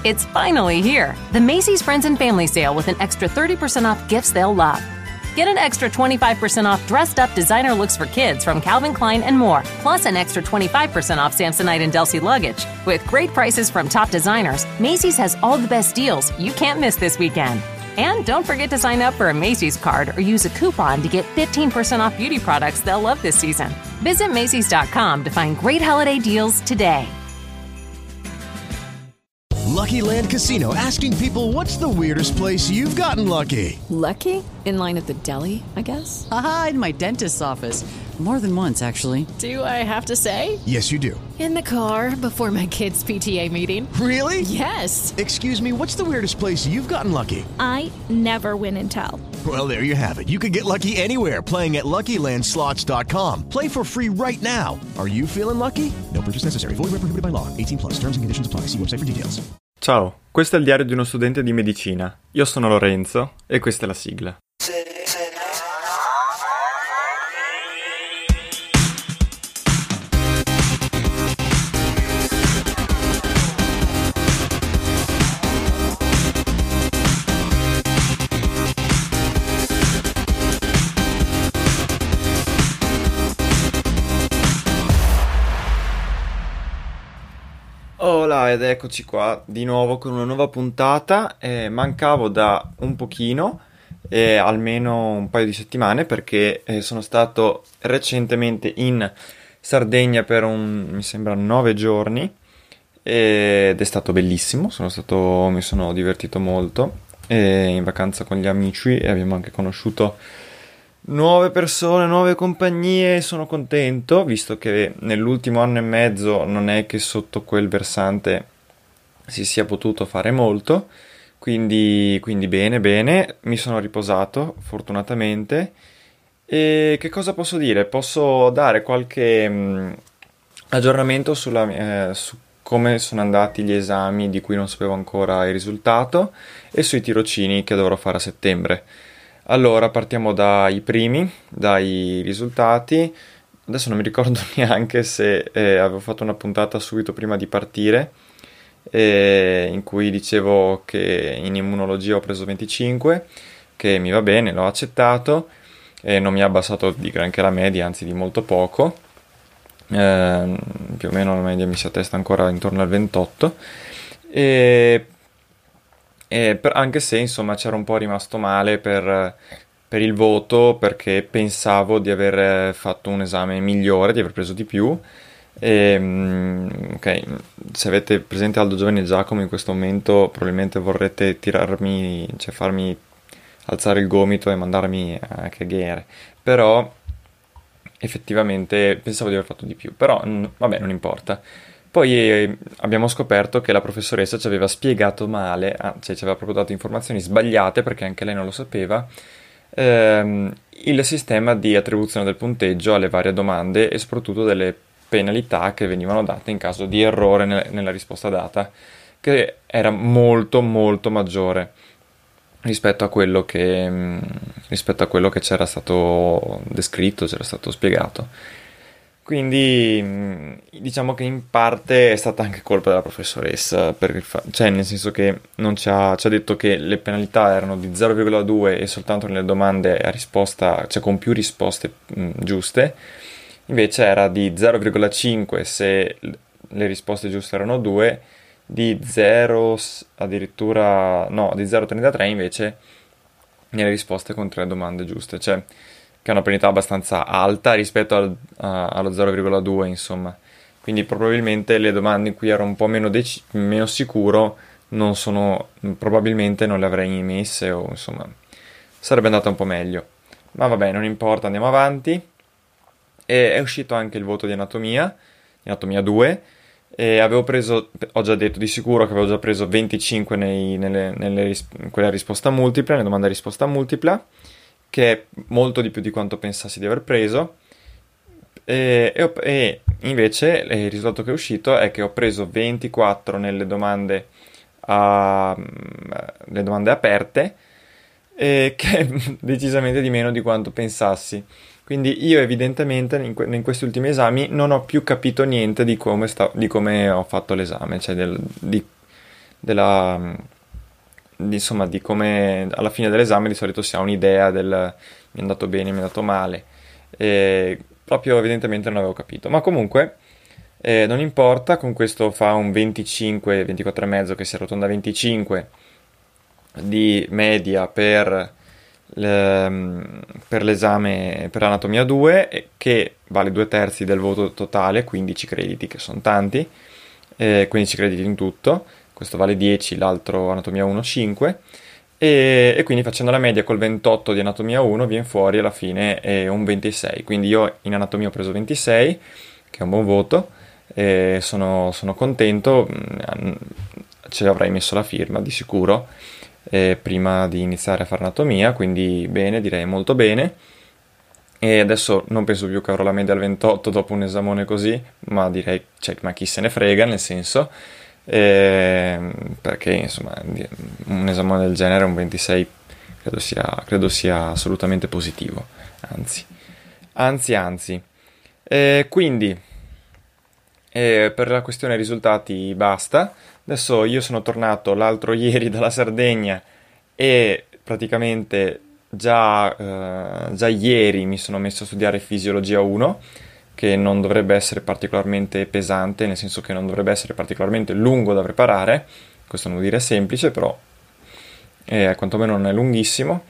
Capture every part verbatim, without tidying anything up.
It's finally here. The Macy's Friends and Family Sale with an extra thirty percent off gifts they'll love. Get an extra twenty-five percent off dressed-up designer looks for kids from Calvin Klein and more, plus an extra twenty-five percent off Samsonite and Delsey luggage. With great prices from top designers, Macy's has all the best deals you can't miss this weekend. And don't forget to sign up for a Macy's card or use a coupon to get fifteen percent off beauty products they'll love this season. Visit Macys dot com to find great holiday deals today. Lucky Land Casino, asking people, what's the weirdest place you've gotten lucky? Lucky? In line at the deli, I guess? Aha, in my dentist's office. More than once, actually. Do I have to say? Yes, you do. In the car before my kids' P T A meeting. Really? Yes. Excuse me, what's the weirdest place you've gotten lucky? I never win and tell. Well, there you have it. You can get lucky anywhere, playing at Lucky Land Slots dot com. Play for free right now. Are you feeling lucky? No purchase necessary. Void where prohibited by law. eighteen plus. Terms and conditions apply. See website for details. Ciao, questo è il diario di uno studente di medicina. Io sono Lorenzo e questa è la sigla. Hola, ed eccoci qua di nuovo con una nuova puntata. Eh, mancavo da un pochino, eh, almeno un paio di settimane, perché eh, sono stato recentemente in Sardegna per un, mi sembra, nove giorni, ed è stato bellissimo. Sono stato, mi sono divertito molto, eh, in vacanza con gli amici, e abbiamo anche conosciuto nuove persone, nuove compagnie. Sono contento, visto che nell'ultimo anno e mezzo non è che sotto quel versante si sia potuto fare molto, quindi, quindi bene, bene, mi sono riposato fortunatamente. E che cosa posso dire? Posso dare qualche mh, aggiornamento sulla, eh, su come sono andati gli esami di cui non sapevo ancora il risultato, e sui tirocini che dovrò fare a settembre. Allora, partiamo dai primi, dai risultati. Adesso non mi ricordo neanche se eh, avevo fatto una puntata subito prima di partire, eh, in cui dicevo che in immunologia ho preso venticinque, che mi va bene, l'ho accettato, e non mi ha abbassato di granché la media, anzi di molto poco. Eh, più o meno la media mi si attesta ancora intorno al ventotto. E... Eh, per, anche se insomma c'era un po' rimasto male per, per il voto, perché pensavo di aver fatto un esame migliore, di aver preso di più. E, ok, se avete presente Aldo, Giovanni e Giacomo in questo momento probabilmente vorrete tirarmi, cioè farmi alzare il gomito e mandarmi a cagare, però effettivamente pensavo di aver fatto di più, però vabbè, non importa. Poi eh, abbiamo scoperto che la professoressa ci aveva spiegato male, ah, cioè ci aveva proprio dato informazioni sbagliate, perché anche lei non lo sapeva, ehm, il sistema di attribuzione del punteggio alle varie domande, e soprattutto delle penalità che venivano date in caso di errore ne- nella risposta data, che era molto molto maggiore rispetto a quello che, mh, rispetto a quello che c'era stato descritto, c'era stato spiegato. Quindi diciamo che in parte è stata anche colpa della professoressa, per il fa- cioè nel senso che non ci ha, ci ha detto che le penalità erano di zero virgola due e soltanto nelle domande a risposta, cioè con più risposte mh, giuste, invece era di zero virgola cinque se le risposte giuste erano due, di zero addirittura, no, di zero virgola trentatré invece nelle risposte con tre domande giuste, cioè che è una penalità abbastanza alta rispetto al, a, allo zero virgola due, insomma. Quindi probabilmente le domande in cui ero un po' meno, dec- meno sicuro non sono, probabilmente non le avrei messe, o insomma sarebbe andata un po' meglio. Ma vabbè, non importa, andiamo avanti. E è uscito anche il voto di anatomia, di anatomia due, e avevo preso, ho già detto di sicuro che avevo già preso venticinque nei, nelle, nelle ris- in quella risposta multipla, nelle domande a risposta multipla, che è molto di più di quanto pensassi di aver preso, e, e, ho, e invece il risultato che è uscito è che ho preso ventiquattro nelle domande, a, le domande aperte, e che è decisamente di meno di quanto pensassi. Quindi io evidentemente in, que- in questi ultimi esami non ho più capito niente di come, sta- di come ho fatto l'esame, cioè del, di, della, di, insomma, di come alla fine dell'esame di solito si ha un'idea del mi è andato bene, mi è andato male. E proprio evidentemente non avevo capito. Ma comunque eh, non importa, con questo fa un venticinque, ventiquattro e mezzo che si arrotonda a venticinque di media per, le, per l'esame per anatomia due, che vale due terzi del voto totale, quindici crediti, che sono tanti, eh, quindici crediti in tutto. Questo vale dieci, l'altro anatomia uno cinque, e, e quindi facendo la media col ventotto di anatomia uno viene fuori alla fine eh, un ventisei. Quindi io in anatomia ho preso ventisei, che è un buon voto, e sono, sono contento, ci avrei messo la firma di sicuro eh, prima di iniziare a fare anatomia, quindi bene, direi molto bene. E adesso non penso più che avrò la media al ventotto dopo un esamone così, ma direi, cioè, ma chi se ne frega, nel senso, eh, perché insomma un esame del genere, un ventisei, credo sia, credo sia assolutamente positivo, anzi, anzi, anzi. Eh, quindi, eh, per la questione risultati basta. Adesso io sono tornato l'altro ieri dalla Sardegna e praticamente già, eh, già ieri mi sono messo a studiare fisiologia uno, che non dovrebbe essere particolarmente pesante, nel senso che non dovrebbe essere particolarmente lungo da preparare. Questo non vuol dire semplice, però eh, quantomeno non è lunghissimo.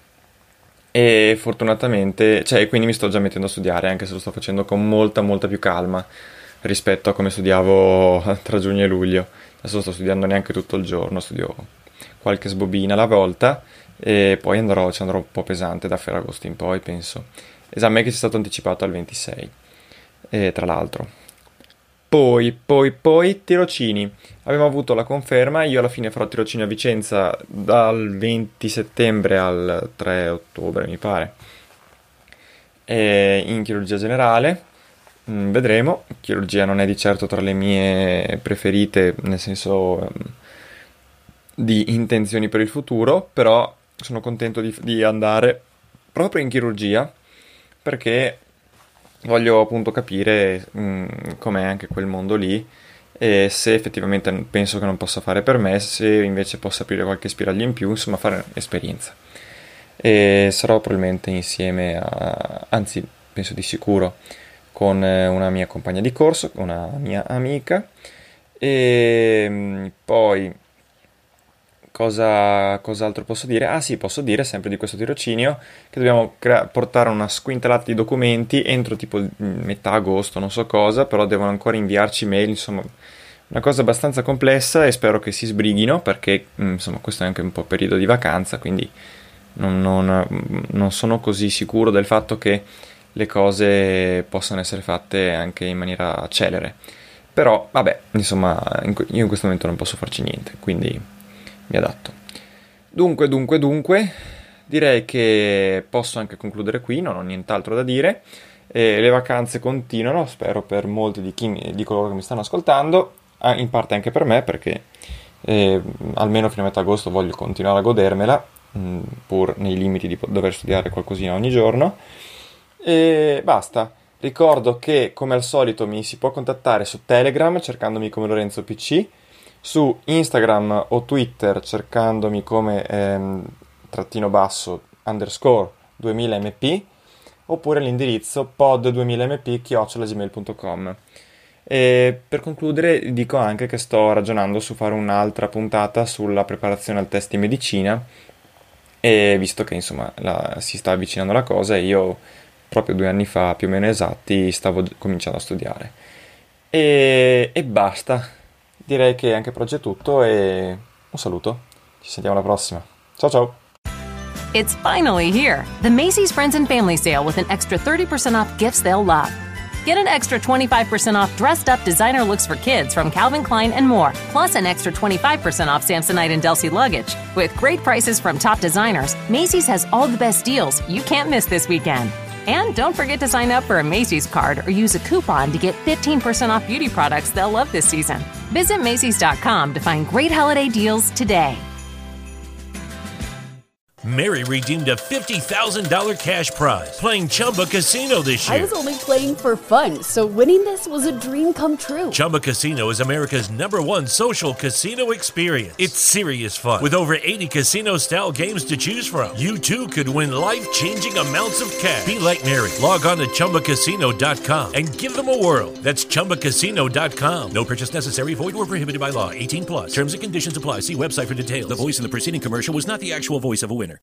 E fortunatamente, cioè, quindi mi sto già mettendo a studiare, anche se lo sto facendo con molta, molta più calma rispetto a come studiavo tra giugno e luglio. Adesso sto studiando neanche tutto il giorno, studio qualche sbobina alla volta e poi andrò, ci andrò un po' pesante da Ferragosto in poi, penso. Esame che ci è stato anticipato al ventisei, e tra l'altro. Poi, poi, poi, tirocini. Abbiamo avuto la conferma, io alla fine farò tirocini a Vicenza dal venti settembre al tre ottobre, mi pare, e in chirurgia generale. Mm, vedremo. Chirurgia non è di certo tra le mie preferite, nel senso um, di intenzioni per il futuro, però sono contento di, di andare proprio in chirurgia, perché voglio appunto capire mh, com'è anche quel mondo lì, e se effettivamente penso che non possa fare per me, se invece posso aprire qualche spiraglio in più, insomma fare esperienza. E sarò probabilmente insieme a, anzi penso di sicuro, con una mia compagna di corso, una mia amica. E mh, poi Cosa, cos'altro posso dire? Ah sì, posso dire sempre di questo tirocinio che dobbiamo crea- portare una squintalata di documenti entro tipo metà agosto, non so cosa, però devono ancora inviarci mail, insomma una cosa abbastanza complessa, e spero che si sbrighino, perché insomma questo è anche un po' periodo di vacanza, quindi non, non, non sono così sicuro del fatto che le cose possano essere fatte anche in maniera celere. Però vabbè, insomma io in questo momento non posso farci niente, quindi mi adatto. Dunque, dunque, dunque, direi che posso anche concludere qui, non ho nient'altro da dire. Eh, le vacanze continuano, spero per molti di, chi, di coloro che mi stanno ascoltando, in parte anche per me, perché eh, almeno fino a metà agosto voglio continuare a godermela, mh, pur nei limiti di dover studiare qualcosina ogni giorno. E basta. Ricordo che, come al solito, mi si può contattare su Telegram cercandomi come Lorenzo P C, su Instagram o Twitter cercandomi come ehm, trattino basso underscore duemila m p, oppure l'indirizzo pod duemila m p chiocciola gmail punto com. E per concludere dico anche che sto ragionando su fare un'altra puntata sulla preparazione al test di medicina, e visto che insomma la, si sta avvicinando la cosa, e io proprio due anni fa più o meno esatti stavo cominciando a studiare, e, e basta. Direi che anche per oggi è tutto, e un saluto. Ci sentiamo alla prossima. Ciao ciao! It's finally here, the Macy's Friends and Family Sale with an extra thirty percent off gifts they'll love. Get an extra twenty-five percent off dressed up designer looks for kids from Calvin Klein and more, plus an extra twenty-five percent off Samsonite and Delsey luggage. With great prices from top designers, Macy's has all the best deals you can't miss this weekend. And don't forget to sign up for a Macy's card or use a coupon to get fifteen percent off beauty products they'll love this season. Visit Macys dot com to find great holiday deals today. Mary redeemed a fifty thousand dollars cash prize playing Chumba Casino this year. I was only playing for fun, so winning this was a dream come true. Chumba Casino is America's number one social casino experience. It's serious fun. With over eighty casino-style games to choose from, you too could win life-changing amounts of cash. Be like Mary. Log on to Chumba Casino dot com and give them a whirl. That's Chumba Casino dot com. No purchase necessary. Void or prohibited by law. eighteen plus. Terms and conditions apply. See website for details. The voice in the preceding commercial was not the actual voice of a winner.